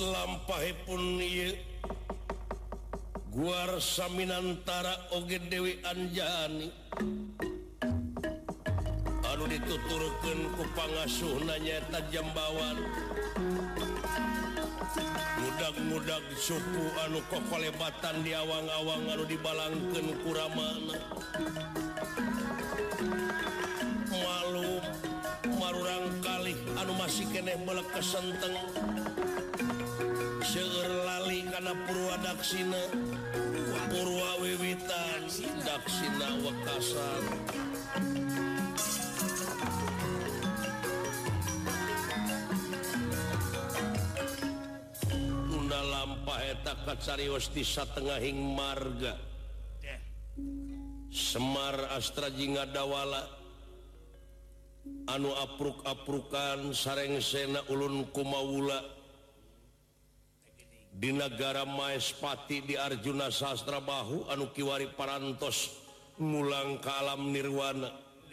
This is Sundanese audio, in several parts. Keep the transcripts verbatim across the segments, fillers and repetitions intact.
lampahipun ieu Guar Saminantara oge Dewi Anjani anu dituturkeun ku pangasuhna nyaeta Jambawan mudag-mudag suku anu kokolebatan di awang-awang anu dibalangkeun ku ramana malum marurang kalih anu masih keneh beulek kesenteng seueur lali kana purwa daksina purwa wiwitan daksina wekasan nuna lampah eta kacarios di satengahing marga Semar Astra Jingadawala anu apruk-aprukan sarengsena ulun kumawula di negara Maespati di Arjuna Sastra Bahu anu kiwari parantos ngulang ka alam nirwana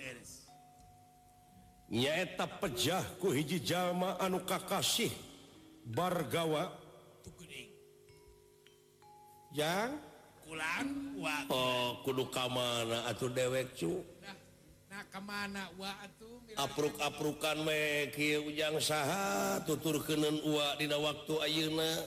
nyaeta pejah ku hiji jalma anu kakasih Bargawa yang kulang wa oh kudu kamana atuh dewek cu nah kemana wa atuh apruk-aprukan we kieu ujang saha tuturkeuneun uwa dina waktu ayeuna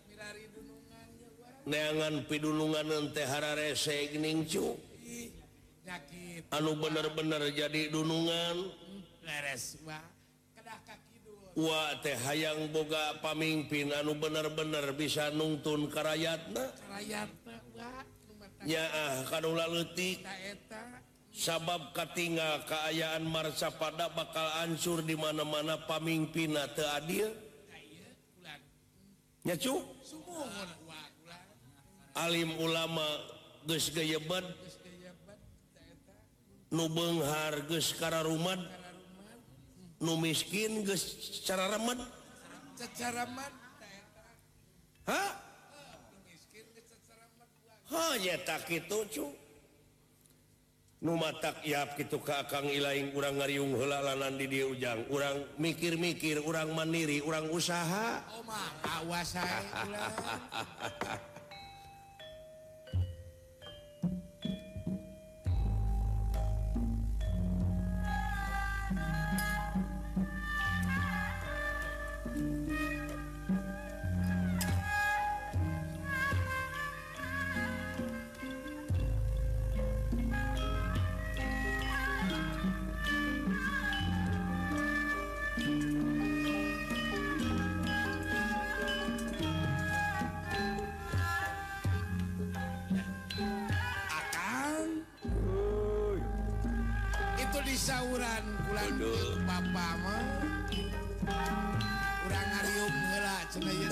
neangan pidulungan teh hararese geuning cu anu bener-bener jadi dunungan leres wa kedah ka kidul wa teh hayang boga pamimpin anu bener-bener bisa nungtun ka rakyatna rakyatna wa nyaah kadula leutik ta eta sabab katingal kaayaan marcapada bakal hancur di mana-mana pamimpinna teu adil nya cu sumuhun wa alim ulama geus gayebat nu beunghar geus kararumad nu miskin geus cararamed cacaraman ha ha nyata kitu cu nu matak iap kitu ka Akang Ilaing urang ngariung heula lanan di dieu ujang urang mikir-mikir urang mandiri urang usaha oh mah awas hae ulah sauran kulan papa mah urang ngariung heula cenah ieu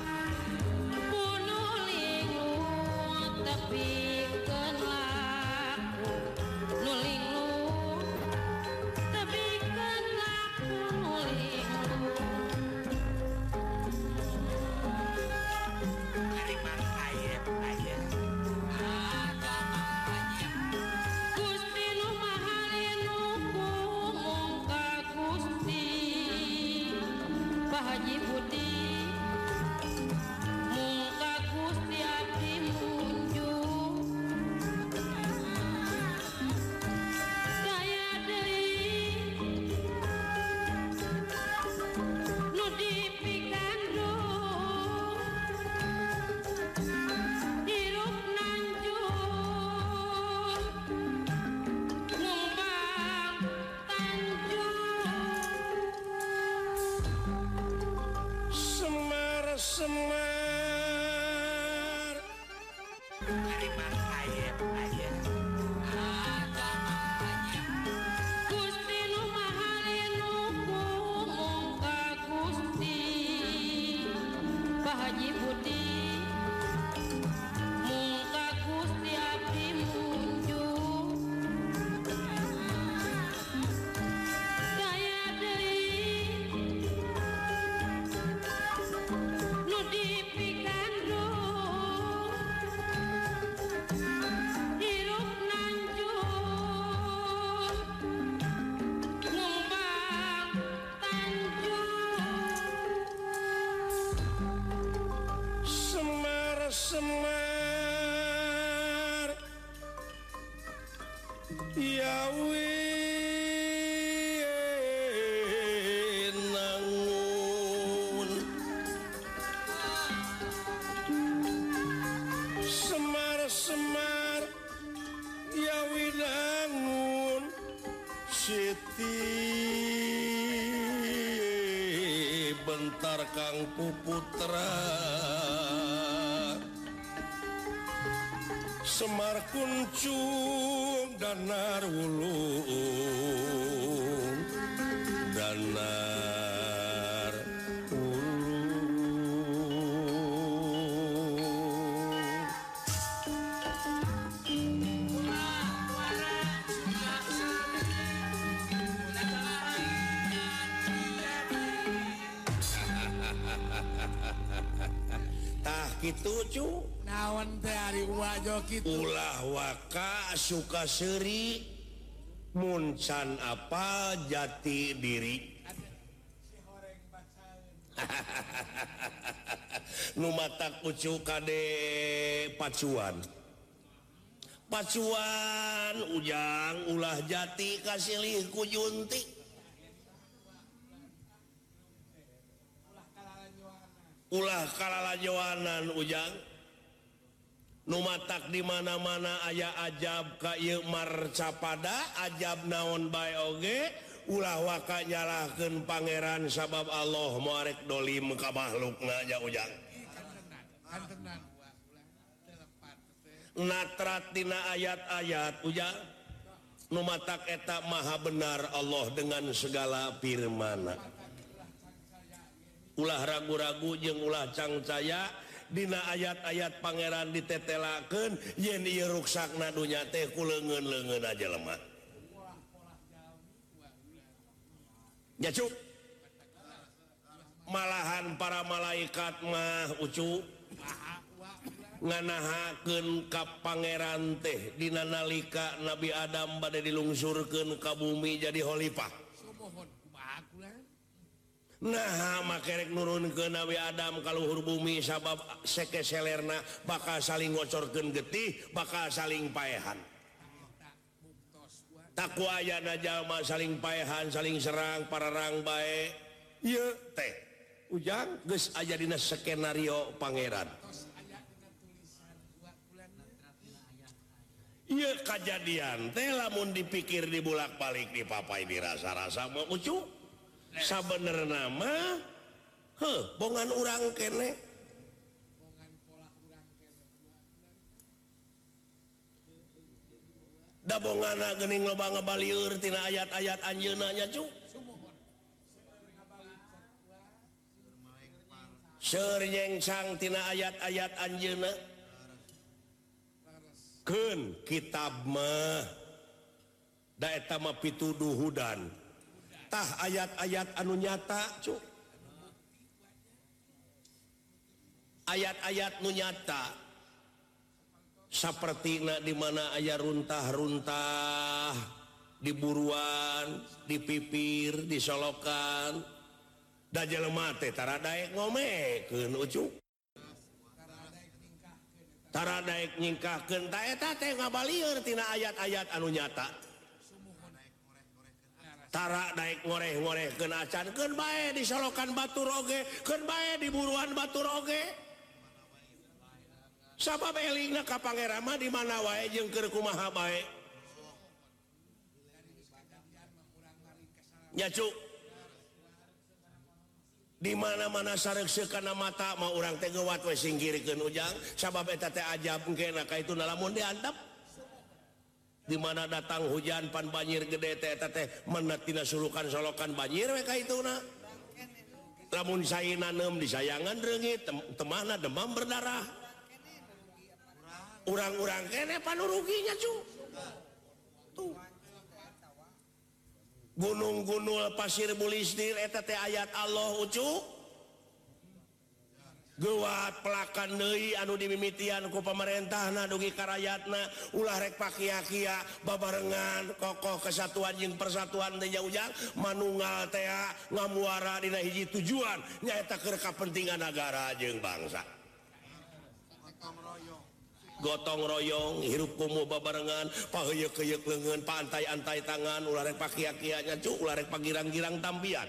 Tapi kenlah Semar Harimah ayam ayam Gusti nu mahalinu kumong ka Gusti Pak Haji Budi mung ka Gusti abdi munjung saya deui nu dipikandung hirup nanjung ngumbang tanjung Semar Semar Yawi nangun Semar Semar Yawi nangun Siti bentar Kang Puputra Semar kuncung danar wulung danar wulung tah kitu cu naon teh ari wajo kitu ulah waka suka seri muncan apa jati diri nu matak ucu kade pacuan pacuan ujang ulah jati kasilih ku junti ulah kalalajoanan ujang numatak di mana-mana aya ajab ka ieu marcapada ajab naon bae oge ulah waka nyalahkeun pangeran sabab Allah moarek dolim ka makhlukna ja ujang kan tenan ulah telepat teh natrat dina ayat-ayat ujang numatak eta maha benar Allah dengan segala firman-Na ulah ragu-ragu jeung ulah cangcaya dina ayat-ayat pangeran ditetelakeun yen ieu ruksakna dunya teh ku leungeun-leungeun aja lemah ya cuk malahan para malaikat mah ucu nganahakeun ka pangeran teh dina nalika Nabi Adam bade dilungsurkeun ka bumi jadi khalifah sumohon kumaha kula nah makerek nurun ke Nabi Adam kaluhur bumi sabab sekeselerna bakal saling ngocorkeun getih bakal saling paehan taku ayana jalma saling paehan saling serang pararang bae ieu teh ujang geus aya dina skenario pangeran ieu kajadian teh lamun dipikir dibulak-balik dipapai dirasa-rasa mah ucu sabenerna mah heuh bongan urang kene da bongana geuning loba ngabalieur tina ayat-ayat anjeunna nya cu seur nyengsang tina ayat-ayat anjeunna keun kitab mah da eta mah pituduhudan tah ayat-ayat anu nyata cu ayat-ayat nu nyata sapertina di mana aya runtah-runtah di buruan di pipir di solokan da jelema teh tara daek ngomekeun ucu tara daek nyingkahkeun ta eta teh ngabalieur tina ayat-ayat anu nyata tara daek ngoreh-ngoreh keun acan keun bae di solokan batur oge keun bae di buruan batur oge sabab elingna ka pangeran mah di mana wae jeung keur kumaha bae nya cu di mana-mana sarek sekana mata mau orang teh gewat we singgirikeun ujang sabab eta teh ajab engkena ka itu lamun diantep di mana datang hujan pan banjir gede teh eta teh menet tina sulukan solokan banjir we ka ituna lamun saina neum disayangan reungit temahna demam berdarah urang-urang kene panuruginya cu tuh gunung-gunung pasir bulistir eta teh ayat Allah ucu gewat pelakan deui anu dimimitian ku pamarentahna dugi ka rakyatna ulah rek pakia-kia babarengan kokoh kesatuan jeung persatuan teh ujang manunggal teh ngamuara dina hiji tujuan nyaeta keur kapentingan nagara jeung bangsa gotong royong hirup kumuh babarengan paheuyeuh-heuyeuh leungeun pantai-antai tangan ulah rek pakia-kianya cu ulah rek pagirang-girang tampian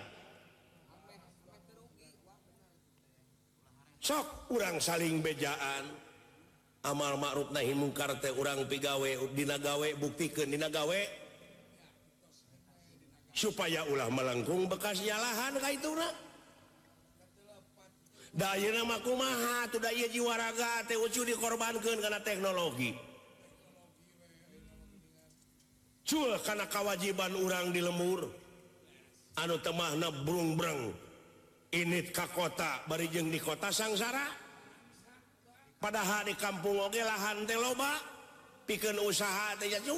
sok urang saling bejaan amal ma'ruf nahi mungkar teh urang pigawe dina gawe buktikeun dina gawe supaya ulah melengkung bekas jalahan ka ituna da ayeuna mah kumaha tuh da ieu jiwa raga teh ucu dikorbankeun kana teknologi cul kana kewajiban urang di lemur anu teu mahna brung-breng init ka kota bari jeung di kota sangsara padahal di kampung oge lahan teh loba pikeun usaha teh cu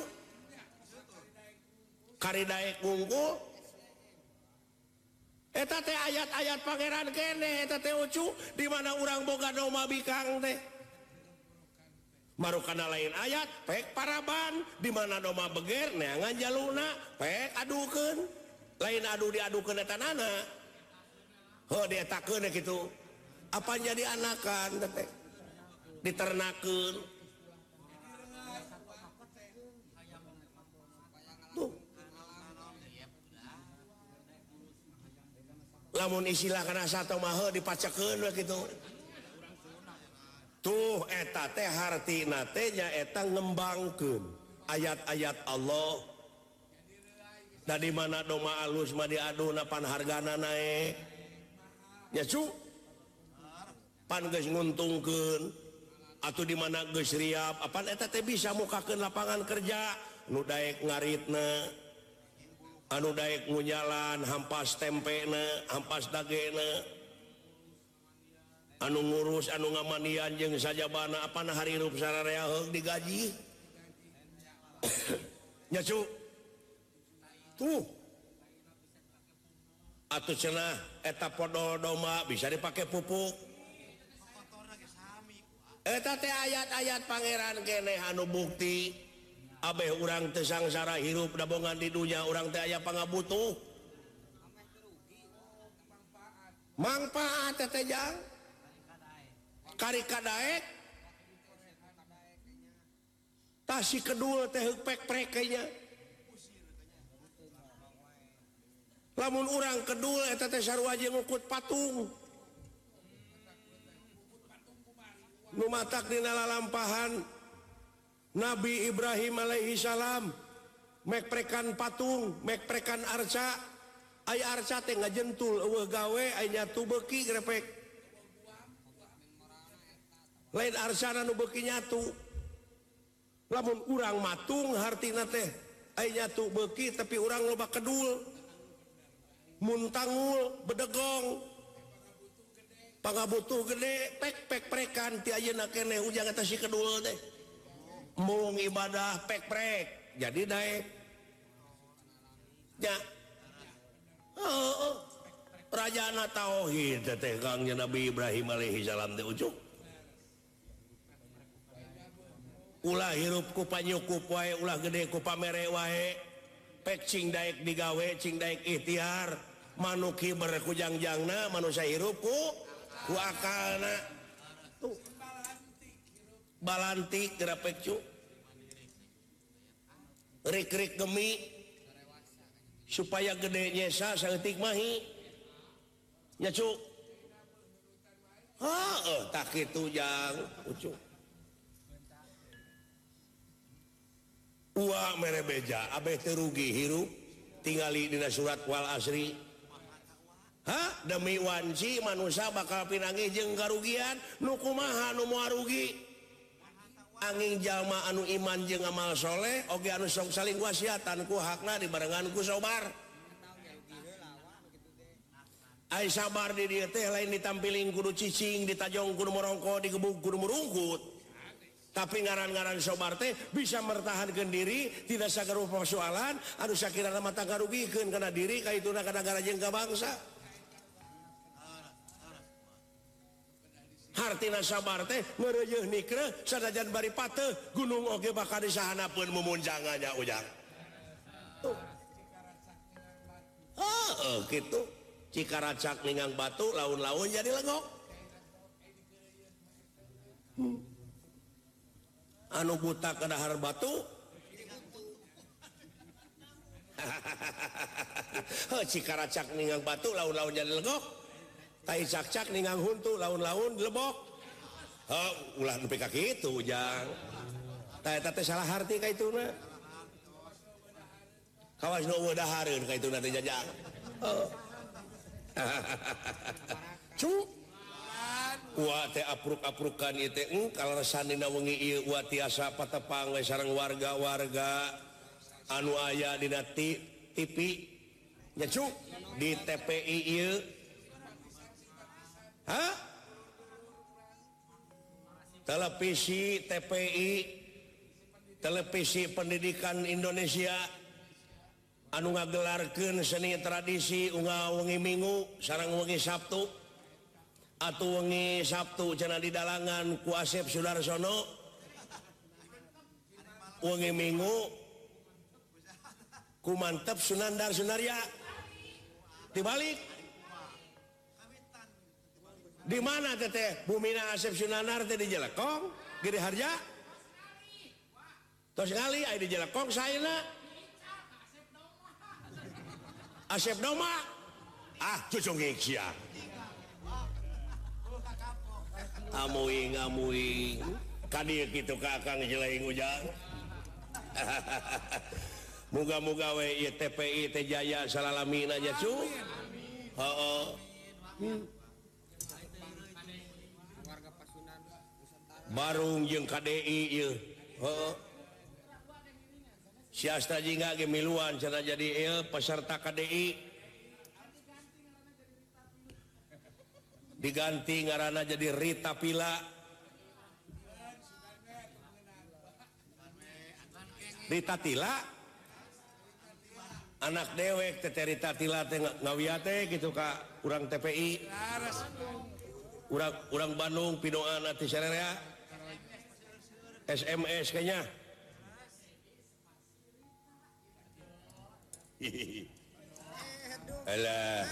kari daek ngungkul eta teh ayat-ayat pangeran kene eta teh ucu di mana urang boga doma bikang teh marukana lain ayat pek paraban di mana doma beger neangan jaluna pek adukeun lain adu diadukeun eta nana heuh dietakeun kitu apa jadi anakan teh diternakeun tuh lamun istilah kana sato mah heuh dipacekeun we kitu tuh eta teh hartina teh nyaeta ngembangkeun ayat-ayat Allah da di mana doma alus mah diaduna pan hargana naek nya cu pan geus nguntungkeun atuh di mana geus riap apan eta teh bisa mukakeun lapangan kerja nu daek ngaritna anu daek ngunyalan hampas tempena hampas dagena anu ngurus anu ngamandian jeung sajabana apana harirup sararea heug digaji nya cu tuh atuh cenah eta podol doma bisa dipake pupuk eta teh ayat-ayat pangeran keneh anu bukti abeh urang teu sangsara hirup dabongan di dunya urang teh aya pangabutuh manfaat teh jang kari kadaek tasi kedul teh heuk pek-prek nya lamun urang kedul eta teh sarua jeung ngukut patung nu matak dina lalampahan Nabi Ibrahim alaihi salam mek prekan patung mek prekan arca aya arca teh ngajentul eueuh gawe aya nyatu beuki grepek lain arca nu beuki nyatu lamun urang matung hartina teh aya nyatu beuki tapi urang loba kedul muntangul bedegong pangabutuh gede pek pek prekan ti ayeuna keneh ujang eta si kedul teh mung ibadah pek prek jadi daek nya heeh rajana tauhid teh kangnya Nabi Ibrahim alaihi salam teh ucuk ulah hirup ku panyukup wae ulah gede ku pamere wae pek cing daek digawe cing daek ikhtiar manuk hiber ku jangjangna manusia hirup ku ku akalna tuh balantik grapek cu rik-rik gemi supaya gede nyesa saeutik mahi nya cu heuh tak kitu jang ucu uwa mere beja abeh teu rugi hirup tingali dina surat wal asri ha demi wanci manusia bakal pinangi jeung karugian nu kumaha nu moal rugi angin jalma anu iman jeung amal soleh oge anu sok saling wasiatan ku hakna dibarengan ku sabar ai sabar di dieu teh lain ditampilin kudu cicing ditajong kudu morongko digebuk kudu merungkut tapi ngaran-ngaran sabar teh bisa mertahankeun diri tidak sagarupa persoalan anu sakirana mata karugikeun kana diri kaituna ka nagara jeung ka bangsa hartina sabar teh ngeureuh nikreh sanajan bari pateuh gunung oge bakal disahanapeun mumunjangannya ujang. Heeh kitu. Cikaracak ningang batu laun-laun jadi legok. Hmm. Anu buta ke dahar batu. Heuh cikaracak ningang batu laun-laun jadi legok. Tai cak-cak ningang huntu laun-laun lebok. Heuh ulah nepi ka kitu ujang. Tah eta teh salah harti ka ituna. Kawas nu weudahareun ka ituna teh jajang. Heuh. Cu. Wa teh apruk-aprukan ieu teh eng kalaresan dina wengi ieu wa tiasa patepang we sareng warga-warga anu aya dina T V nya cu di T P I ieu. Hah? Televisi T P I Televisi Pendidikan Indonesia anu ngagelarkeun seni tradisi unggal wengi Minggu sareng wengi Sabtu atuh wengi Sabtu cenah didalangan ku Asep Sudarsono wengi Minggu ku Mantep Sunandar Sunarya dibalik di mana teteh bumina Asep Sunandar teh di Jelekong Giri Harja tos ngali aya di Jelekong saena Asep Doma ah cucung sia amuing amuing kadieu kitu ka Kang Jeleing ujang muga-muga we ieu T P I teh jaya salalamina nya cu heeh Barung jeung K D I ieu heeh siasta jingga ge miluan cenah jadi ieu peserta K D I diganti ngaranna jadi Rita Pila Rita Tila anak dewek teh Rita Tila teh ngawiat teh kitu ka urang T P I urang urang Bandung pidoan ati sarerea S M S kayaknya alah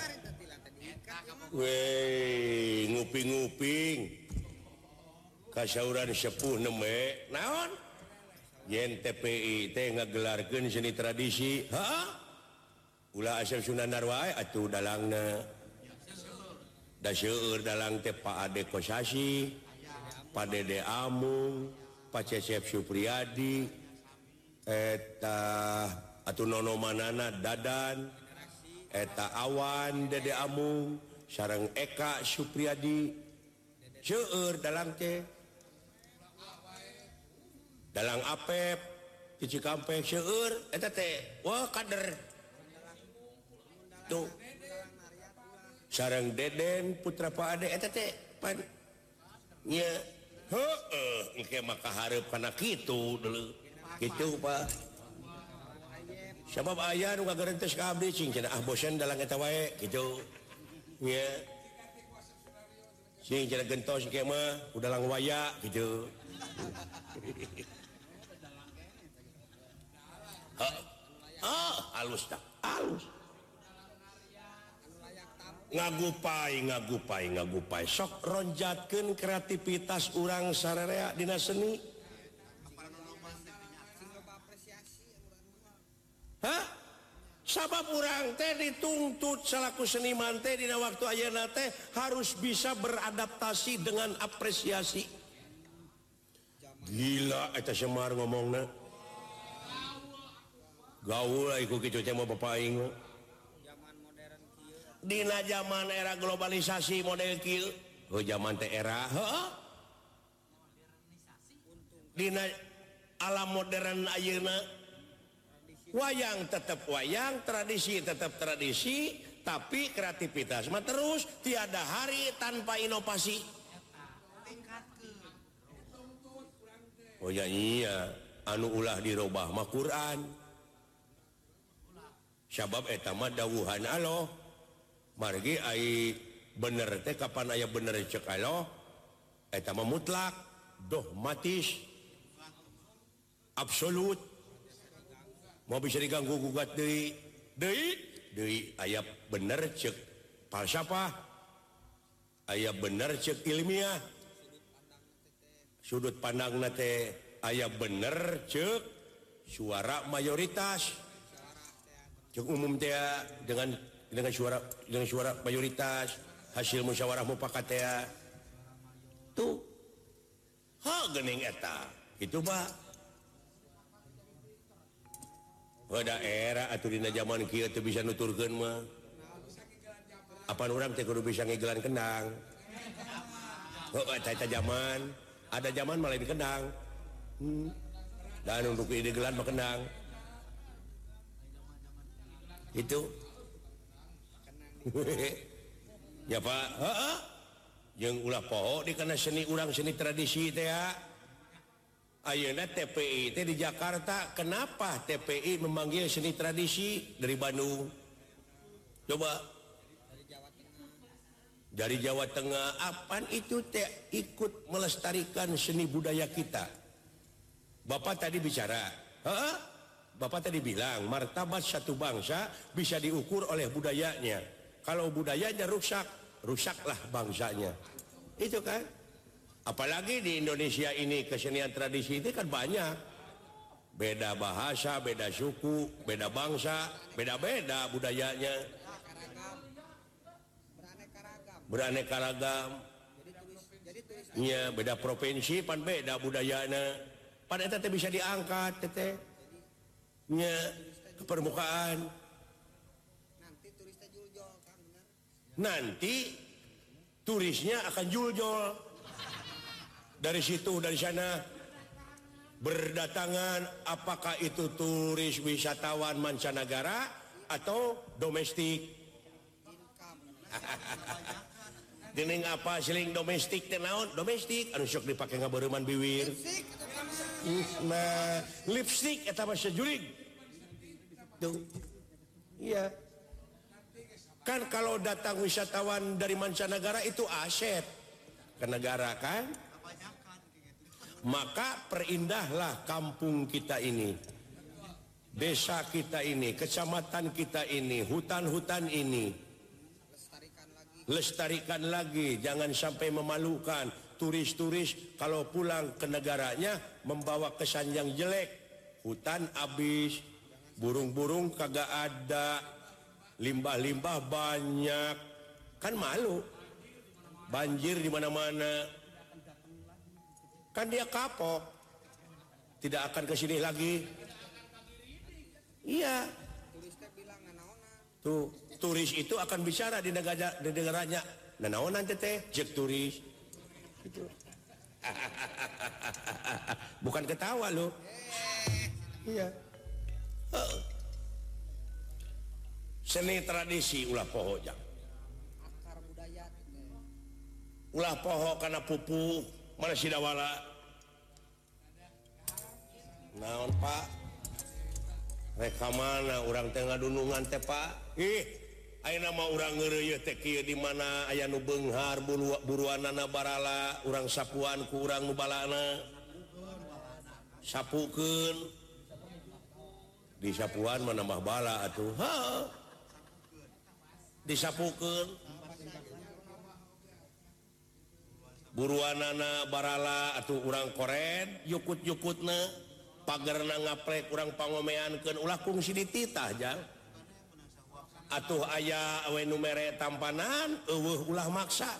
weh nguping-nguping kasauran sepuh neme naon yen T P I teh ngagelarkeun seni tradisi ha ulah Asep Sunandar wae atuh dalangna da seueur dalang teh Pak Ade Kosasi Pak Dede Amung Pak Cecep Supriyadi eta atuh nono manana Dadan eta Awan Dede Amung sareng Eka Supriyadi seueur dalang teh dalang Apep di Cikampek seueur eta teh wah kader tuh sareng Deden putra Pak Ade eta teh pan nya heueuh engke mah kahareup kana kitu deuleu kitu Pak sabab aya nu ngageurentes ka abdi cing cenah ah bosen dalang eta wae kitu nya sing cenah gentos ge mah udalang waya kitu ah halus tak halus ngagupai ngagupai ngagupai sok ronjatkeun kreativitas urang sararea dina seni hah sabab urang teh dituntut salaku seniman teh dina waktu ayeuna teh harus bisa beradaptasi dengan apresiasi gila eta Semar ngomongna gaul iku kitu teh mah bapak aing dina zaman era globalisasi model kieu oh zaman teh era heeh dina alam modern ayeuna wayang tetap wayang tradisi tetap tradisi tapi kreativitas mah terus tiada hari tanpa inovasi oh ya iya anu ulah dirobah mah Quran sabab eta mah dawuhan Allah margi ai bener teh kapan aya bener cek Allah eta mah mutlak dogmatis absolut mau bisa diganggu gugat deui deui deui aya bener cek falsafah aya bener cek ilmiah sudut pandangna teh aya bener cek suara mayoritas cek umum teh dengan dengan suara dengan suara mayoritas hasil musyawarah mufakat teh tuh ha geuning eta kitu Pak pada era atuh dina zaman kieu teu bisa nuturkeun mah apaan urang teh kudu bisa ngigelan kendang heuh eta zaman ada zaman malah di kendang hmm. dan untuk ide gelan mah kendang itu ya Pak heeh jeung ulah poho dikana seni urang seni tradisi teh ya ayeuna T P I teh di Jakarta kenapa T P I memanggil seni tradisi dari Bandung coba dari Jawa Tengah apaan itu teh ikut melestarikan seni budaya kita Bapak tadi bicara heeh Bapak tadi bilang martabat satu bangsa bisa diukur oleh budayanya kalau budayanya rusak rusaklah bangsanya itu kan apalagi di Indonesia ini kesenian tradisi itu kan banyak beda bahasa beda suku beda bangsa beda-beda budayanya beraneka ragam ya beda provinsi pan beda budayana pan eta teh bisa diangkat teh nya ke permukaan nanti turisnya akan juljol dari situ dari sana berdatangan apakah itu turis wisatawan mancanegara atau domestik geuning apa siling domestik teh naon domestik anu sok dipake ngabeureman biwir nah lipstick eta mah sajurig tuh iya kan kalau datang wisatawan dari mancanegara itu aset ke negara kan maka perindahlah kampung kita ini desa kita ini kecamatan kita ini hutan-hutan ini lestarikan lagi jangan sampai memalukan turis-turis kalau pulang ke negaranya membawa kesan yang jelek hutan habis burung-burung kagak ada limbah-limbah banyak kan malu banjir di mana-mana kan dia kapok tidak akan ke sini lagi iya tuh turis itu akan bicara di negara di negaranya nanaonan teh jek turis gitu. Bukan ketawa loh iya uh. Seni tradisi ulah poho jang ulah poho karena pupuk mana si dawala naon Pak reka mana urang teh ngadunungan teh Pak ih ayeuna mah urang ngeureuy teh kieu di mana aya nu beunghar buruanana barala urang sapuan ku urang nu balana sapukeun di sapuan mah nambah bala atuh ha disapukeun buruanana barala atuh urang koren yukut-yukutna pagerna ngaplek urang pangomeankeun ulah kungsi dititah jang atuh aya we nu mere tampanan eueuh ulah maksa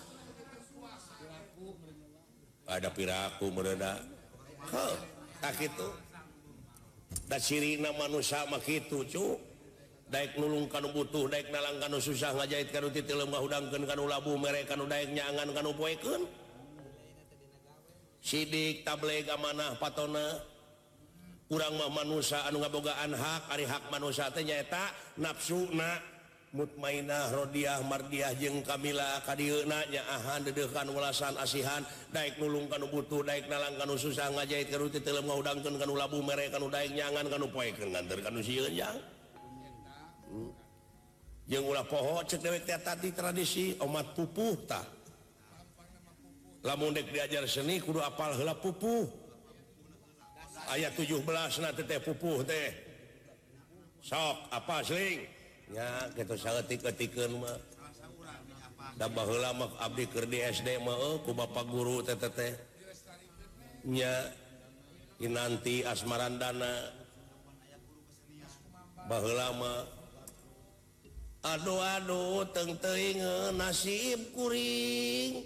ada piraku meureuda heuh tak kitu da cirina manusia mah kitu cu daek nulung kanu butuh daek nalang kanu susah ngajait kanu titil lemah udangkeun kanu labu mere kanu daek nyangan kanu poekeun sidik tableg amanah patona urang mah manusia anu ngabogaan hak ari hak manusia teh nyaeta nafsuna mutmainah rodiah mardiah jeung kamila kadieuna nyaahan dedeuhan welasan asihan daek nulung kanu butuh daek nalang kanu susah ngajait kanu titil lemah udangkeun kanu labu mere kanu daek nyangan kanu poekeun nganter kanu sieun jang jeung ulah poho cek dewek teh tadi tradisi omat pupuh tah lamun dek diajar seni kudu apal heula pupuh ayat tujuh belas na teh pupuh teh sok apa sling nya kitu saeutik-eutikeun mah da baheula mah abdi keur di S D mah eueuh ku bapak guru teh teh nya kinanti asmarandana baheula mah aduh-aduh teng teuing nasib kuring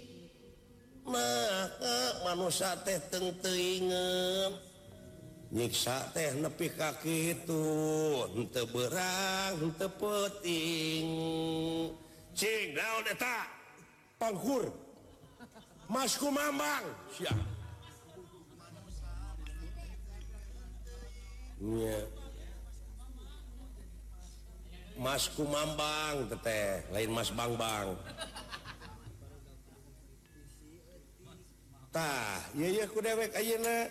maka manusia teh teng teuing nyiksa teh nepi ka kitu henteu beurang henteu peuting cing naon eta pangkur Mas Kumambang sia nya Mas Kumambang teteh lain Mas Bangbang tah ieu ku dewek ayeuna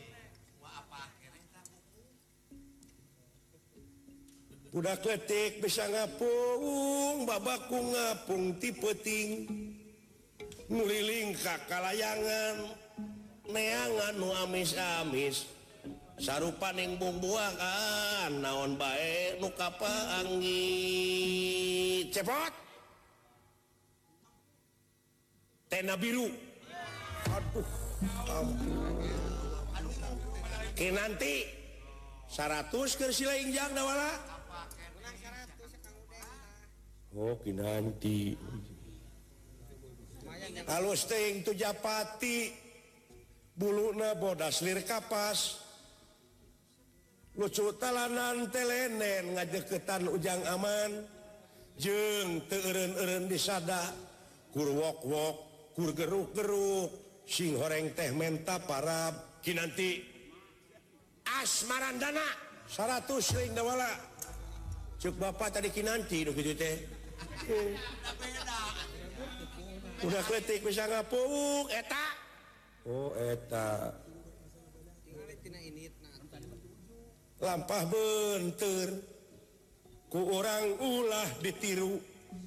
budak letik bisa ngapung babaku ngapung ti peuting nuliling ka kalayangan neangan nu amis-amis sarupaning bumbuakan naon bae nu kapaanggi cepot tena biru aduh ampun kinanti seratus keur silaing jang da wala oh kinanti halus teuing tu Japati buluna bodas lir kapas lucu talanan telenen ngajeketan ujang aman jeung teu eureun-eureun disada kur wok-wok kur geruk-geruk sing horeng teh menta parab kinanti asmarandana seratus ring dawala cuk bapak tadi kinanti nu kitu teh udah kletik bisa ngapung eta oh eta lampah benteur ku orang ulah ditiru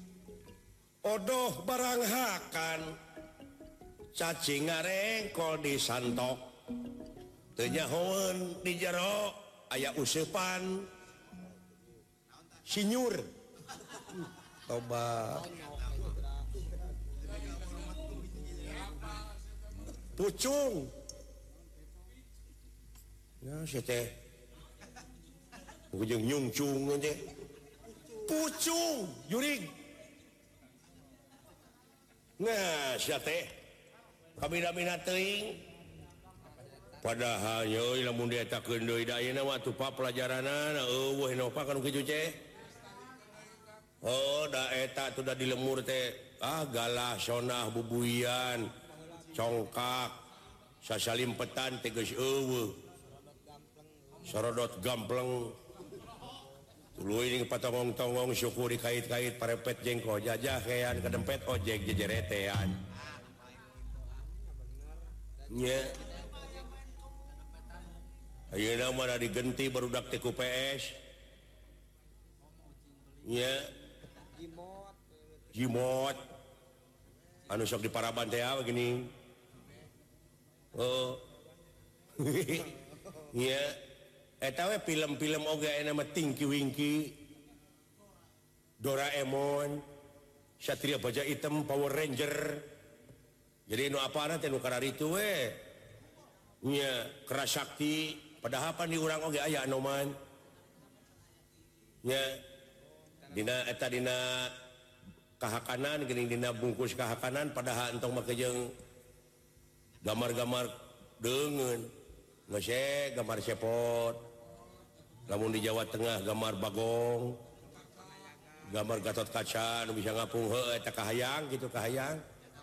odoh barang hakan cacing ngarengkol disantok teu nyahoeun di jero aya useupan sinyur toba pucung ya sia teh ujung nyungcung aja pucung juring nah sia teh kabina-bina teuing padahal yeuy lamun dietakeun deui da ayeuna mah tupa pelajaranna eueuh enopa kanu kitu teh oh da eta tuh da di lemur teh ah galah sonah bubuian congkak sasalimpetan teh geus eueuh sorodot gampleng tuluy ning patongong-tongong syukur dikait-kait parepet jengko jajah kean kadempet ojek jejeretean nya ayeuna mah da digenti barudak teh ku P S nya jimot anu sok diparaban teh begini oh nya eta we film-film oge aya mah Tinky Winky Doraemon Satria Baja Hitam Power Ranger jadi nu apana teh nu kararitu we nya Kerasakti padahal pan di urang oge aya anoman nya dina eta dina kahakanan geuning dina bungkus kahakanan padahal entong make jeung gambar-gambar deungeun geus gambar sepot lamun di Jawa Tengah gambar bagong gambar Gatot Kaca nu bisa ngapung heuh eta kahayang gitu kahayang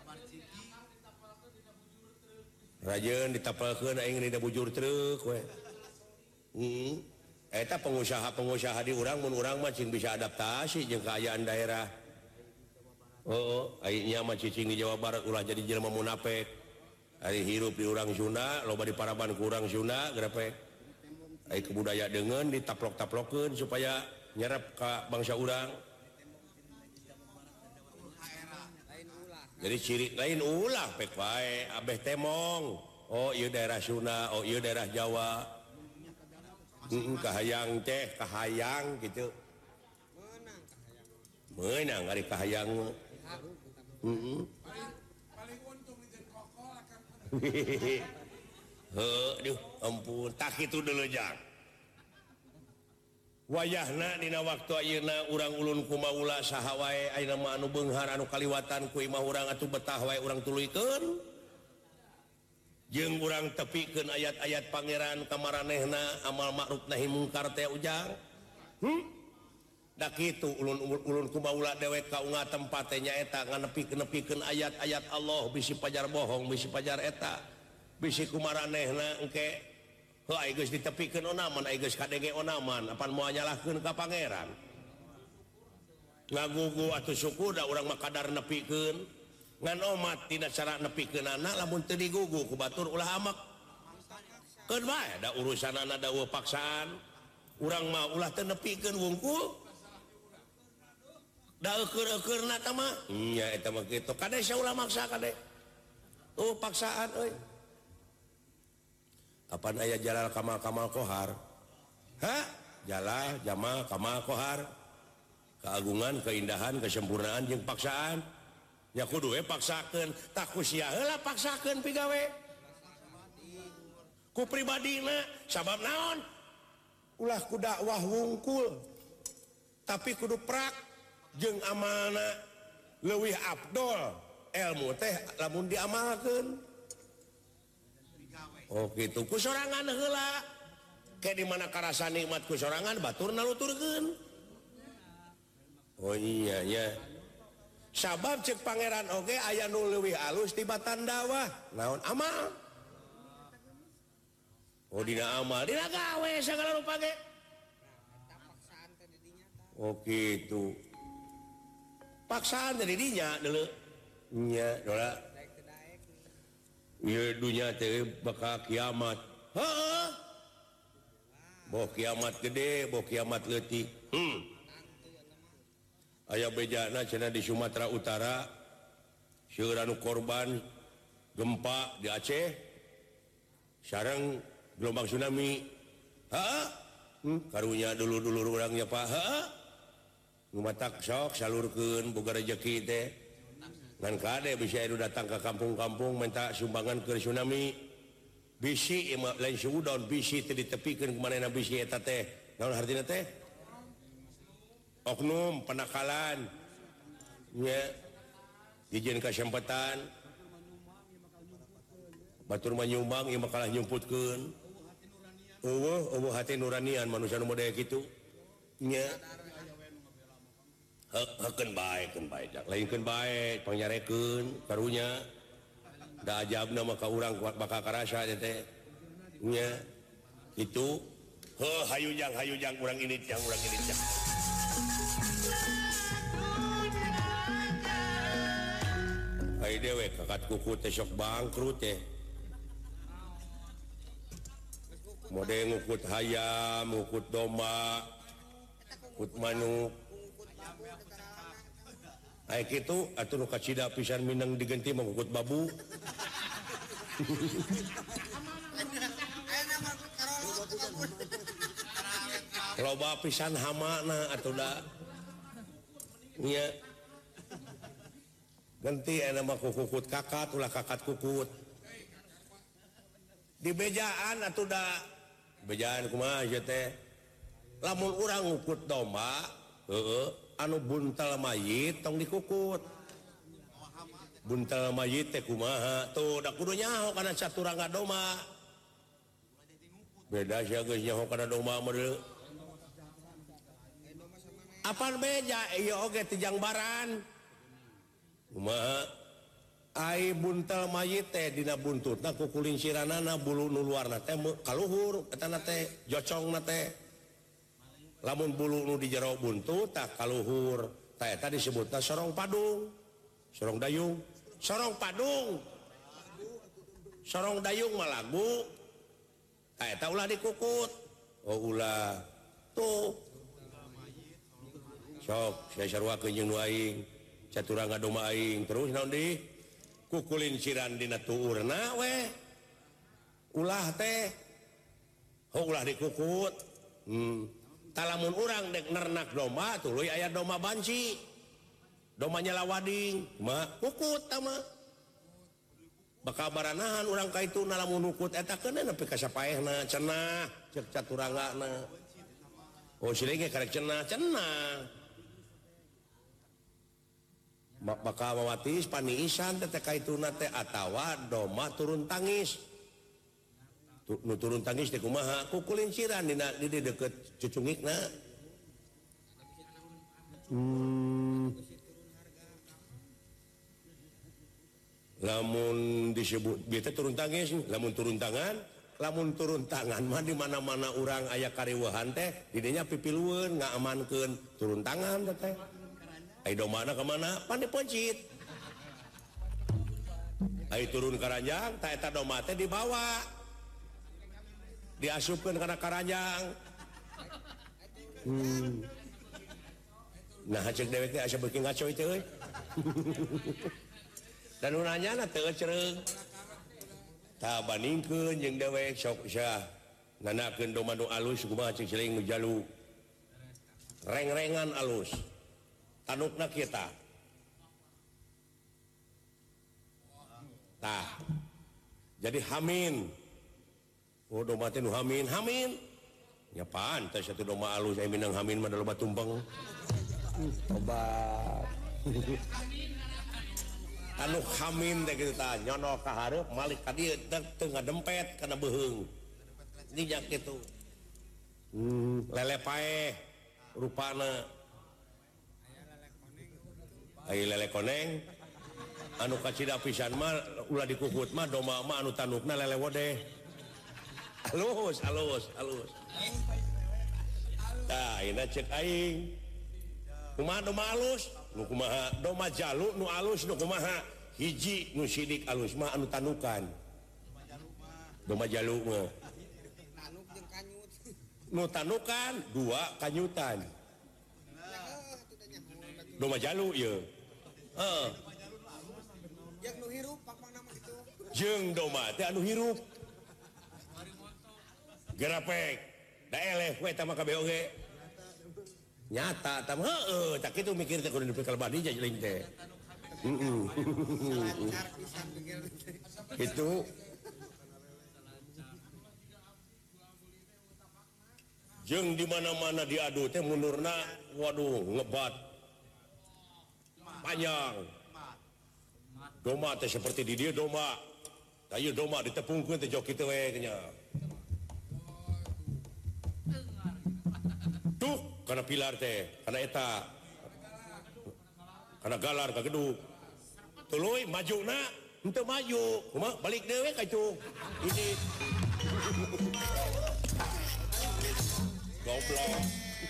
rajeun ditapelkeun aing dina bujur truk we heeh eta pengusaha-pengusaha di urang mun urang mah cing bisa adaptasi jeung kaayaan daerah oh aingnya mah cicing di Jawa Barat ulah jadi jelema munafik ari hirup di urang Sunda loba di paraban ku urang Sunda grepe ai kebudayaan deungeun ditaplok-taplokkeun supaya nyerap ka bangsa urang jadi ciri lain ulah pek wae abeh temong oh ieu daerah Sunda oh ieu daerah Jawa heeh kahayang teh kahayang gitu meunang ari kahayang heeh paling untung di kokol akan heuh duh ampun tak kitu deuleu jang wayahna dina waktu ayeuna urang ulun kumaula saha wae ayeuna mah anu beunghar anu kaliwatan ku imah urang atuh betah wae urang tuluykeun jeung urang tepikeun ayat-ayat pangeran ka maranehna amal ma'ruf nahi mungkar teh ujang hmm? Da kitu ulun ulun kumaula dewek kaunga tempat teh nyaeta nganepikeun ayat-ayat Allah bisi pajar bohong bisi pajar eta bisi kumaranehna engke heuh ai geus ditepikeun onaman ai geus kadenge onaman apan moal nyalahkeun ka pangeran ngagugu atuh suku da urang mah kadar nepikeun ngan omat tina cara nepikeunana lamun teu digugu ku batur ulah amak keun bae da urusanana daweuh paksaan urang mah ulah teu nepikeun wungkul da eukeur-eukeurna tah mah nya eta mah kitu kade saulah maksa kade oh paksaan euy kapan aya jalal kamal kamal kohar ha jalal jamal kamal kohar keagungan keindahan kesempurnaan jeung paksaan nya kudu we paksakeun tak ku sia heula paksakeun pigawe ku pribadina sabab naon ulah ku dakwah wungkul tapi kudu prak jeung amalna leuwih afdol ilmu teh lamun diamalkeun. Oh gitu ku sorangan heula ke di mana karasa nikmat ku sorangan batur naluturkeun oh iya nya sabab cek pangeran oge aya nu leuwih alus tibatan dakwah naon amal oh dina amal dina gawe sagala rupa ge oh gitu paksaan teh di dinya deuleu nya dola ieu dunya teh bakal kiamat heeh boh kiamat gede boh kiamat leutik hmm aya bejana cenah di Sumatera Utara seueur anu korban gempa di Aceh sareng gelombang tsunami heeh hmm. karunya dulur-dulur urang nya Pak heeh ngumatak sok salurkeun boga rezeki teh ngan kade bisa anu datang ke kampung-kampung minta sumbangan ke tsunami bisi lain suudon bisi teu ditepikeun kumanehna bisi eta teh naon hartina teh oknum penakalan nya dijieun kasempetan batur mah nyumbang ieu mah kalah nyumputkeun eueuh eueuh hati nuranian manusia nu model kitu nya hekeun bae keun bae lainkeun bae pangyarekeun karunya da ajabna mah ka urang bakal karasa teh nya kitu heuh hayujang hayujang urang ini jang urang ini jang ai dewe kakat kuku teh sok bangkrut teh mode ngukut hayam ngukut domba ngukut manuk ai kitu atuh nu kacida pisan minang diganti mangukut babu loba pisan hamana atuh da nya ganti aya mah kukut kakat ulah kakat kukut di bejaan atuh da bejaan kumaha ieu teh lamun urang ngukut domba heueuh anu buntal mayit tong dikukut buntal mayit teh kumaha tuh da kudu nyaho kana saturangga domba beda sia geus nyaho kana domba mah deuleu Apaan beja iya oge tijang baran kumaha ai buntel mayit teh dina buntutna ku kulinsiranana bulu nu luarna teh kaluhur etana teh jocongna teh lamun bulu nu di jero buntut tak kaluhur tah eta disebutna sorong padung sorong dayung sorong padung sorong dayung mah lagu tah eta ulah dikukut oh ulah tuh sok saya sarwakeun jeung nu aing caturang ngadoma aing terus naon di kukulinciran dina tuurna we ulah teh oh ulah dikukut hmm. Talamun urang dek nernak domba tuluy aya domba banci domba nyala wading mah kukut tama bakal baranahan urang kaitu lamun ukut eta keun nepi ka sapaehna cenah cek caturangana oh silege karek cenah cenah bakal mawatis paniisan teh kaituna teh atawa domba turun tangis nu turun tangis teh kumaha kukulinciran dina di deket cucungikna hmm. Lamun disebut bieu teh turun tangis lamun turun tangan lamun turun tangan mah di mana-mana urang aya kariweuhan teh di dinya pipilueun ngaamankeun turun tangan teh ai domana ka mana pan diponcit ai turun karanjang tah eta domba teh dibawa diasupkeun kana karanjang hmm. Nah cek dewek teh asa beuki ngacoy teh euy dan nanyana teu cereung tah bandingkeun jeung dewek sok sia nganakeun domba nu alus kumaha cek ciling nu jalu reng-rengan alus tanukna kita tah jadi hamin oh domba teh nu hamin hamin nya pantes satu domba alus aya minang hamin mah da loba tumpeng obat anu hamin teh kitu tah nyono ka hareup malik ka dieu teu ngadempet kana beuheung dinya kitu hmm lele paeh rupana ai lele koneng anu kacida pisan mah ulah dikukut mah domba mah anu tanukna lele wodeh alus alus alus tah ayeuna cek aing kumaha domba alus nu kumaha domba jalu nu alus nu kumaha hiji nu sidik alus mah anu tanukan domba jalu mah tanuk jeung kanyut nu tanukan dua kanyutan domba jalu ieu heeh jeung nu hirup pang nama kitu jeung domba teh anu hirup gerapek da eleh we tah mah kabeh oge nyata tah heueuh tak kitu mikir teh kudu nepi ka lebadi jajling teh heeh itu jeung di mana-mana diadu teh munurna waduh ngebat panjang domba teh seperti di dia domba ayo domba ditepungkeun teh jok kitu we nya tuh kana pilar teh kana eta kana galar ka gedung tuluy majuna henteu maju kumaha balik dewe ka itu ini goblok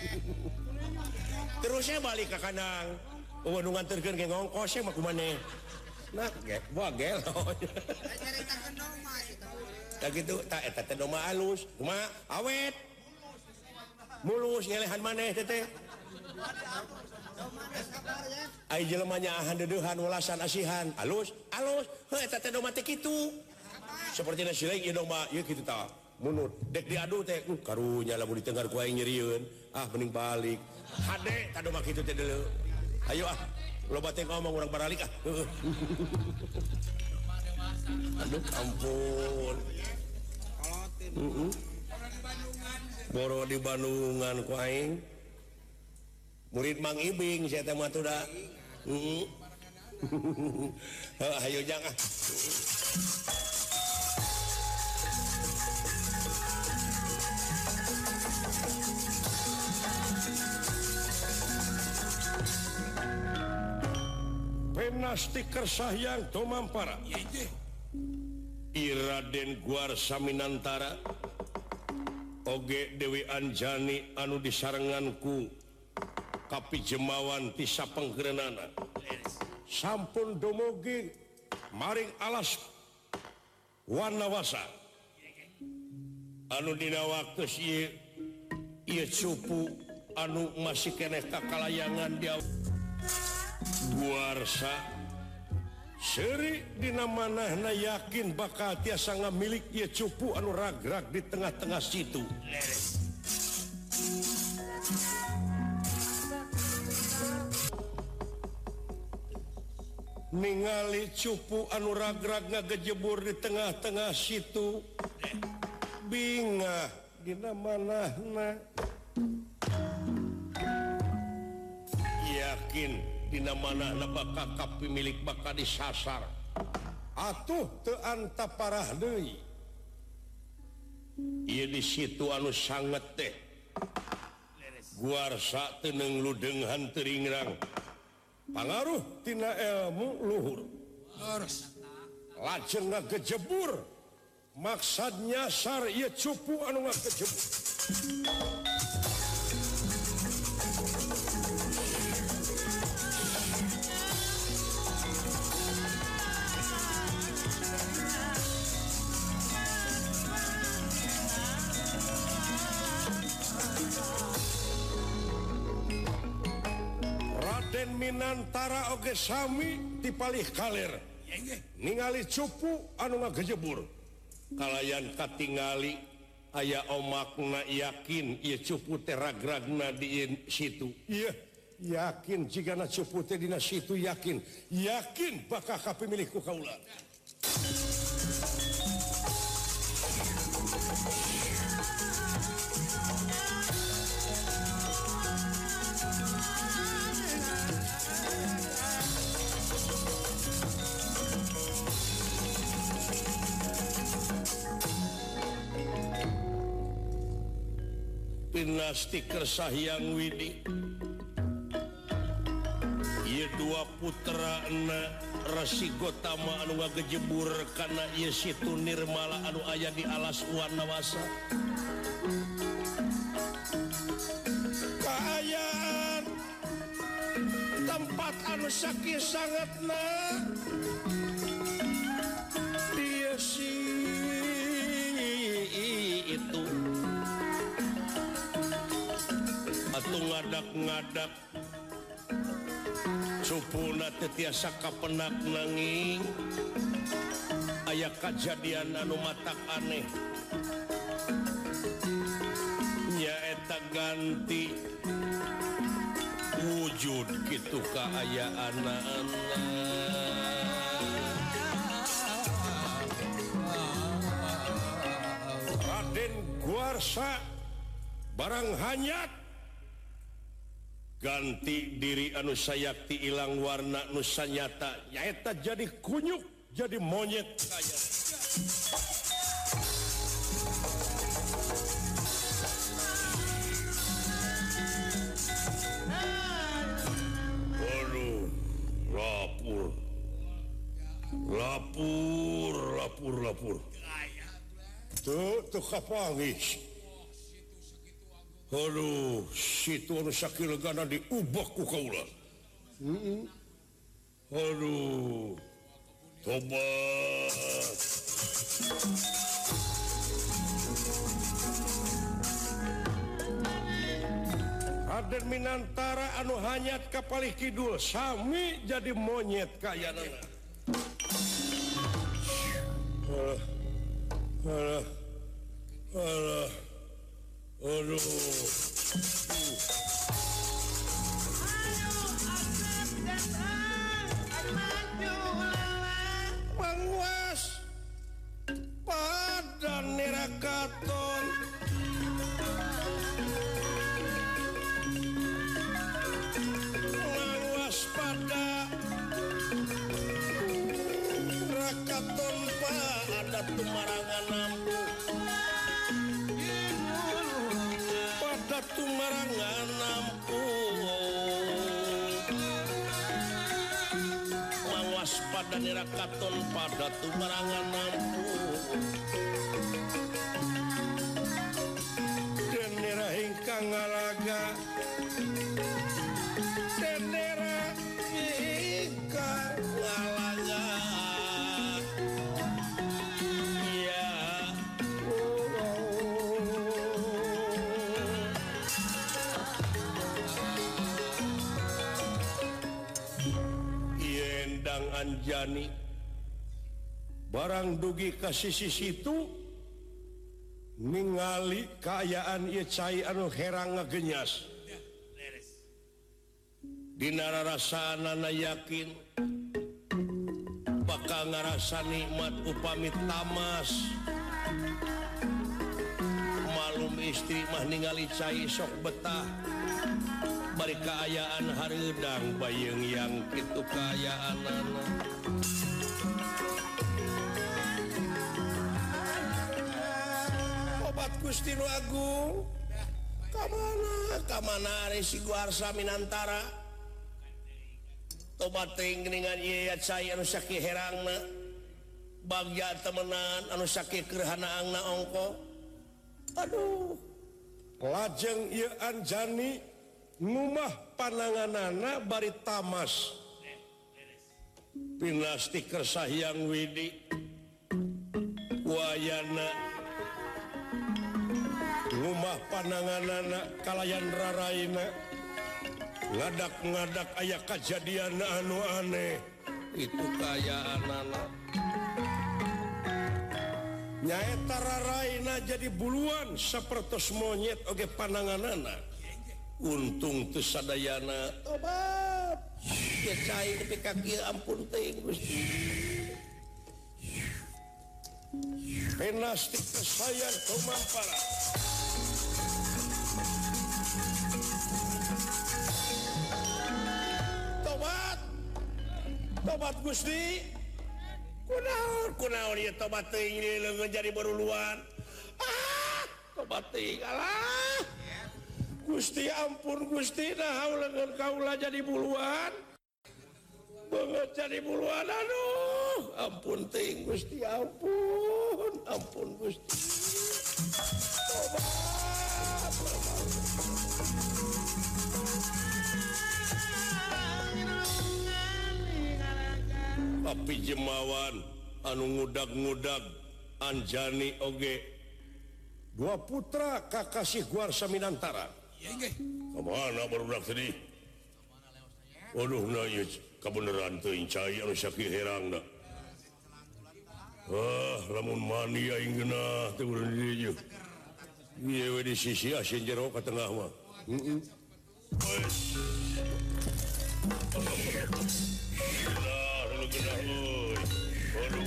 terusnya balik ke kandang oh nu nganterkeun ge ngongkos mah kumaneh nah ge wah gelo caritakeun domba kitu tah kitu tah eta teh domba alus kumaha awet mulus ngelehan maneh teh teh ai jelema nyaahan deudeuhan welasan asihan alus alus heuh eta teh domba teh kitu seperti na sileung ieu domba ieu kitu tah munut dek diadu teh uh, karunya lamun ditengar ku aing nyerieun ah mending balik hade tah domba kitu teh deuleu ayo ah loba teh ngomong urang baralik ah aduh ampun heeh boro di Bandungan ku aing murid Mang Ibing saya teh mah tuh da heeh ayo jang ah Pinasti Kersahyang Tomampara Iraden Guarsa Minantara Oge Dewi Anjani anu disarenganku Kapi Jemawan Tisa Penggerenana sampun dumugi maring alas Wanawasa anu dina waktu ieu ieu cupu anu masih keneh kakalayangan dia Guarsa seri dina manahna yakin bakal tiasa ngamilik ieu cupu anu ragrag di tengah-tengah situ ningali cupu anu ragrag ngagejebur di tengah-tengah situ bingah dina manahna yakin dina manahna bakal kapi milik bakal disasar atuh teu anta parah deui ieu di situ anu sanget teh Guarsa teu neungludeunghan teuringrang pangaruh tina ilmu luhur lajeng ngagejebur maksad nyasar ieu cupu anu ngagejebur Raden Minantara oge sami dipalih kaler ningali cupu anu ngagejebur kalayan katingali aya omakna yakin ieu cupu teh ragragna di situ ieu yakin jigana cupu teh dina situ yakin yakin bakal kapimilik ku kaula Pinasti Kersahyang Widi ieu dua putra na Resi Gotama anu ngagejebur kana ieu situ nirmala anu aya di alas Wanawasa kaayaan tempat anu sakieu sangatna ieu si itu atuh ngadak-ngadak supuna teu tiasa kapenak nanging aya kajadian anu matak aneh nyaeta ganti wujud kitu kaayaanna Raden Guarsa barang hanyat ganti diri anu sayakti ilang warna nu sanyata nyaeta jadi kunyuk jadi monyet kaya aduh lapur lapur lapur lapur tuh tuh kapangis aduh, situ anu sakilegana diubah ku kaula. Heeh. Aduh. Tobat. Raden Minantara anu hanyat ka palih kidul sami jadi monyet kayanana. Alah. Alah. Alah. Aduh. Pangwas pada nerakaton pangwas pada rakaton pada tumarangan nampu tumarangan nampu dan katon pada tumarangan ampun dan nira ingkang ngalaga dan nira ingkang ngalaga ya Yendang Anjani barang dugi ka sisi situ ningali kaayaan ieu cai anu herang ngagenyas dina rarasanana yakin bakal ngarasa nikmat upami tamas malum istri mah ningali cai sok betah bari kaayaan hareudang bayeung yang kitu kaayaanana obat Gusti nu Agung kamana kamana ari si Guarsa Minantara tobat teuing geuningan ieu cai anu sakit herangna bagja temenan anu sakit keurhanaangna ongko aduh lajeng ieu Anjani ngumah pananganana bari tamas pinasti Kersa Hyang Widi wayana ngumah pananganana kalayan raraina ngadak-ngadak aya kajadian anu aneh itu kaayaanana nyaeta raraina jadi buluan sapertos monyet oge pananganana untung teu sadayana tobat ya cai nepi ka kieu ampun teuing Gusti penasti kesayan kumampara tobat tobat Gusti kunaon kunaon ieu tobat teuing leungeun jadi baruluan ah tobat teuing alah Gusti ampun Gusti nah leungeun kaula jadi buluan banget jadi buluan aduh ampun teuing Gusti ampun ampun Gusti tobat tapi jemawan anu ngudag-ngudag Anjani oge dua putra kakasih Guarsa Minantara kemana barudak tadi waduh na ieu kabeneran teuing cai anu sakit herangna ah lamun mani aing geunah teu urang di dieu ieu we di sisi asin jero ka tengah mah heeh nah lu geunah euy aduh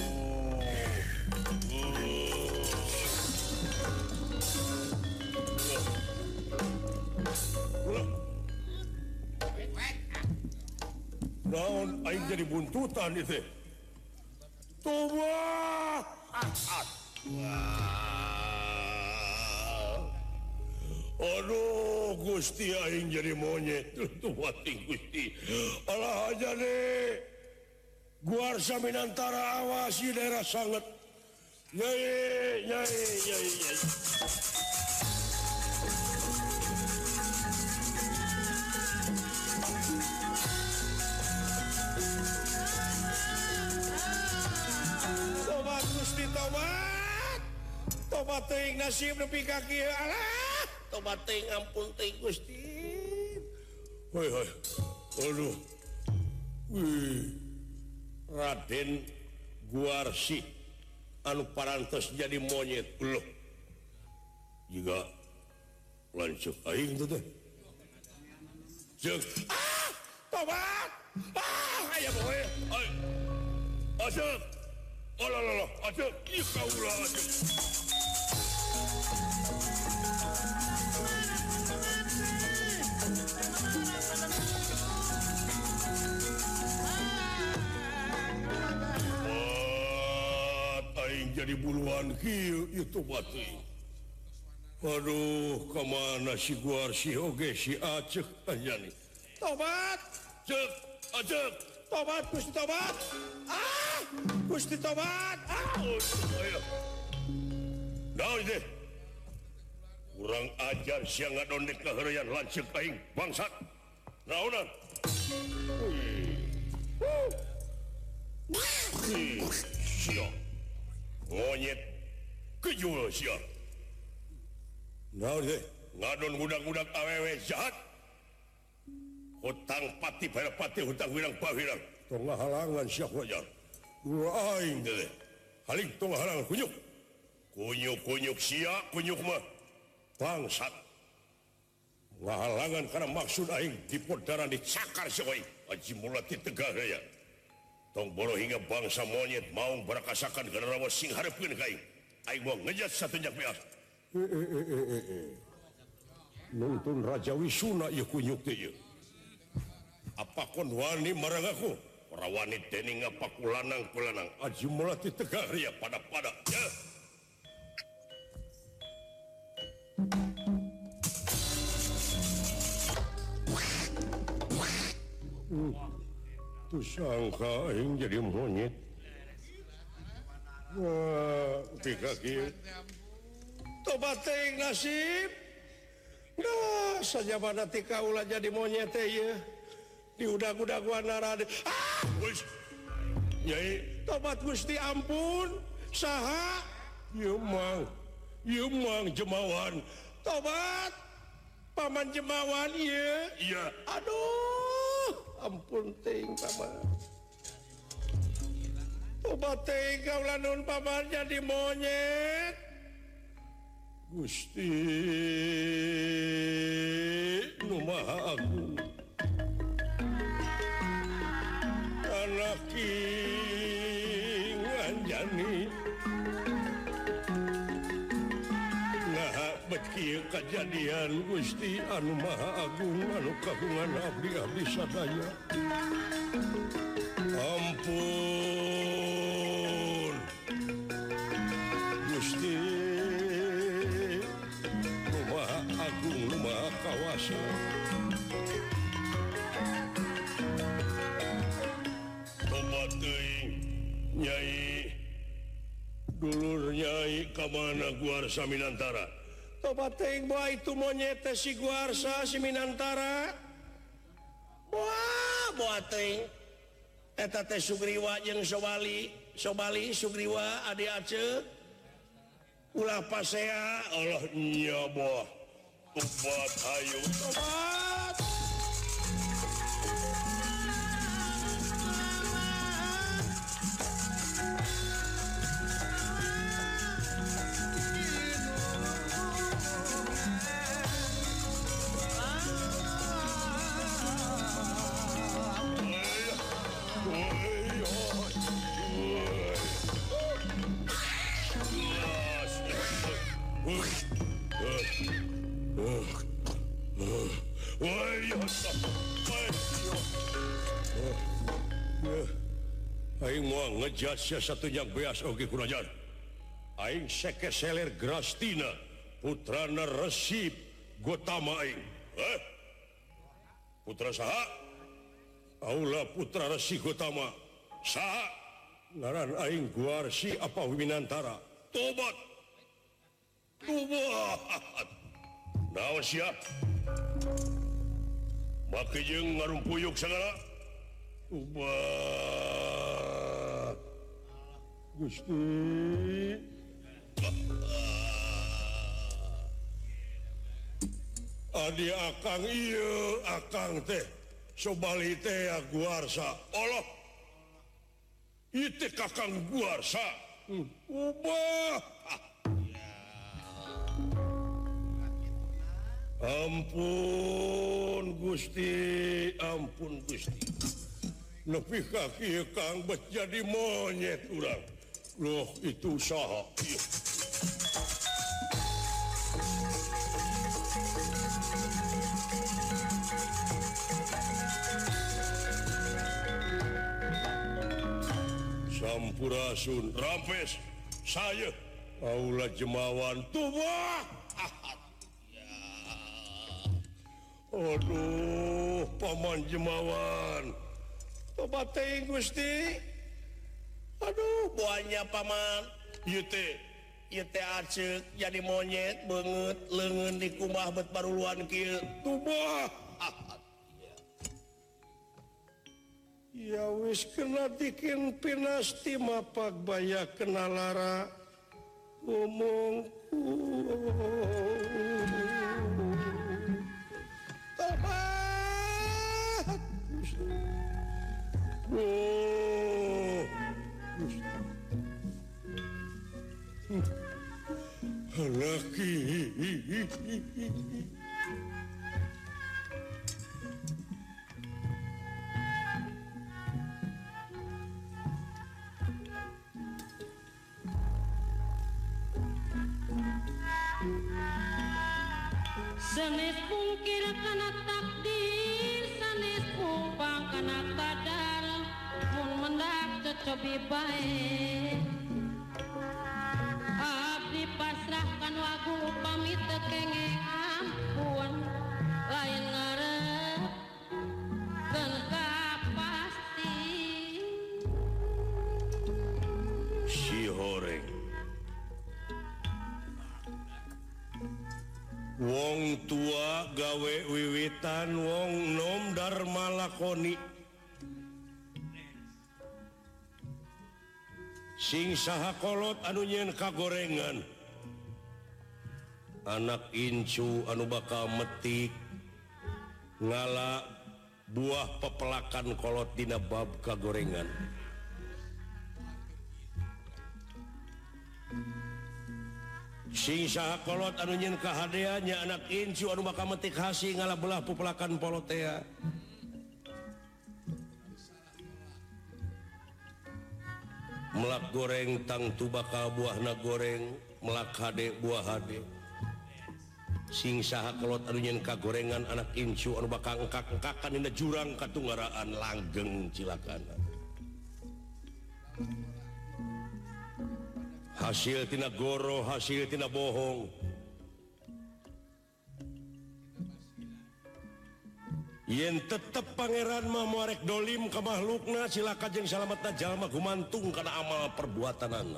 naon aing jadi buntutan itu tobat aduh Gusti aing jadi monyet tobat Gusti alah aja deh Guarsa Minantara awas di daerah sangat nyai nyai nyai nyai tobat tobat teuing nasib nepi ka kieu alah tobat teuing ampun teuing Gusti hoi hoi aduh wih Raden Guarsi anu parantos jadi monyet loh juga lanjut aing tuh teh jeung ah tobat ah aya boe ai asep oh lah lah lah, aja, iya kau lah aja. Wat, aing jadi buluan kieu itu batu. Aduh, kemana si Guarsi oge si Aceh Anjani. Tobat, cek, acek. tobat Gusti tobat ah Gusti tobat ah naon deh kurang ajar siang ngadondek kaheureyan lanceuk aing bangsat naonan sia monyet kejul sia naon deh ngadon budak-budak awewe jahat hutang pati pada pati hutang wirang pahirang tong halangan sia wajar aing deh haling tong halangan kunyuk kunyuk kunyuk sia kunyuk mah bangsat ngahalangan karena maksud aing dipodaran dicakar sia wae aji mulati tegah ya tong bolo hingga bangsa monyet mau barakasakan kana rawa sing hareupeun ka aing aing mau ngejat satunjak beas nuntun Raja Wisuna ieu kunyuk teh ieu apa kon wani marang aku ora wani dening apa kulanang kulanang aji mulati tegah ya pada-pada ya hmm. Tuh sangka aing jadi monyet wah pika kieu tobat teh nasib nah saja pada ti kaula jadi monyet teh ieu diudag-udaguan narade ah wis nyai tobat Gusti ampun saha ieu mang ieu mang jemawan tobat paman jemawan ieu iya aduh ampun teuing paman tobat teuing kaula nun paman jadi monyet Gusti nu maha agung anak nganjani nah bet kieu kajadian Gusti anu maha agung anu kagungan abdi abdi sadaya ampun Gusti nu maha agung nu maha kawasa Nyai dulur Nyai kamana Guarsa Minantara tobat teuing bae itu monyet teh si Guarsa si Minantara wah bae teuing eta teh Sugriwa jeung Sobali Sobali Sugriwa adi Aceh ulah pasea Allah nya boh tobat hayu tobat aing moal ngejat sia satunya beas oge kurajaan aing sekeseler Grastina putrana Resi Gotama aing eh putra saha aula putra Resi Gotama saha ngaran aing Guarsi apa Winantara tobat tobat naon sia make jeung ngarumpuyuk sagala tobat Gusti adi akang ieu akang teh Sobali teh Guarsa Allah itu kakang Guarsa ubah ampun Gusti ampun Gusti nepi ka kieu kang bet jadi monyet urang loh itu saha ieu Sampurasun rampes saya aula jemawan tuwah aduh paman jemawan tobat teuing Gusti. Aduh, buahnya paman. Ieu teh, ieu teh aceuk jadi monyet beungeut leungeun di kumah bet baruluan kieu. Tubah. Ya wis kena bikin pinasti mapak baya kena lara ngomongku. Tobat. Oh. Laki. Sanes pungkir kana takdir, sanes pumpang kana kadar, mun mendak cocobi bae. Abdi pasrahkan wagu pamit kenging ampun, lain ngarep keun pasti. Si horeng. Wong tua gawe wiwitan, wong nom dharma lakoni. Sing saha kolot anu nyeun kagorengan. Anak incu anu bakal metik ngala buah pepelakan kolot dina bab kagorengan. Sing saha kolot anu nyeun kahadeannya anak incu anu bakal metik hasi ngala belah pepelakan polotea. Melak goreng tang tu bakal buahna goreng, melak hade buah hade. Sing saha kolot anu nyeun kagorengan anak incu anu bakal engkak-engkakan dina jurang katunggaraan langgeng cilakana. Hasil tina goro, hasil tina bohong. Yen tetep pangeran mah moarek dolim ka makhlukna, cilaka jeung salametna jalma gumantung kana amal perbuatanana.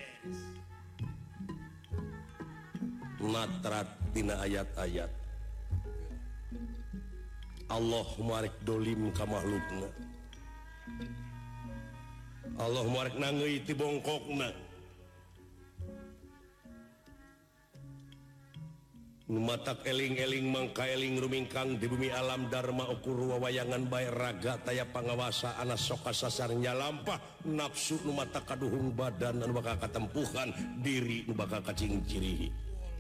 Natrat tina ayat-ayat Allah moarek dolim ka makhlukna. Allah moarek nangeui ti bongkokna. Numatak eling-eling mangka eling rumingkang di bumi alam dharma ukur wawayangan bae raga taya pangawasa anas sok kasasar nyalampah nafsu numatak kaduhung badan anu bakal katempuhan diri nu bakal kacingcirihi.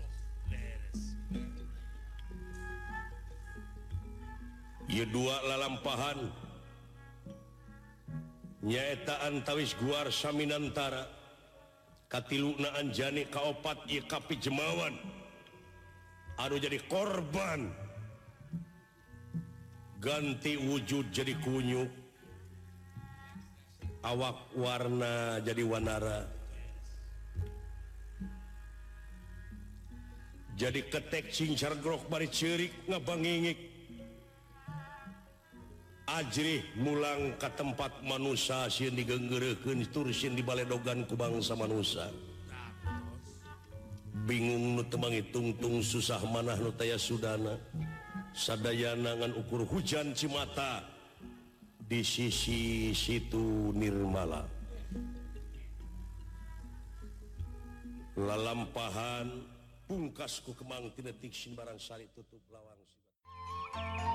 Ieu dua lalampahan nyaeta antawis guar saminantara katiluna anjani kaopat ieu kapijemawan anu jadi korban ganti wujud jadi kunyu, awak warna jadi wanara, jadi ketek cincar grok bari ceurik ngabangingik, ajrih mulang ke tempat manusia sieun digeunggeureukkeun tur sieun dibaledogan ku bangsa manusia. Bingung nu teu mangitung-tung susah manah nu taya sudana sadayana ngan ukur hujan cimata di sisi situ nirmala. Lalampahan pungkas ku kemang tina tiksin barang sari tutup lawang.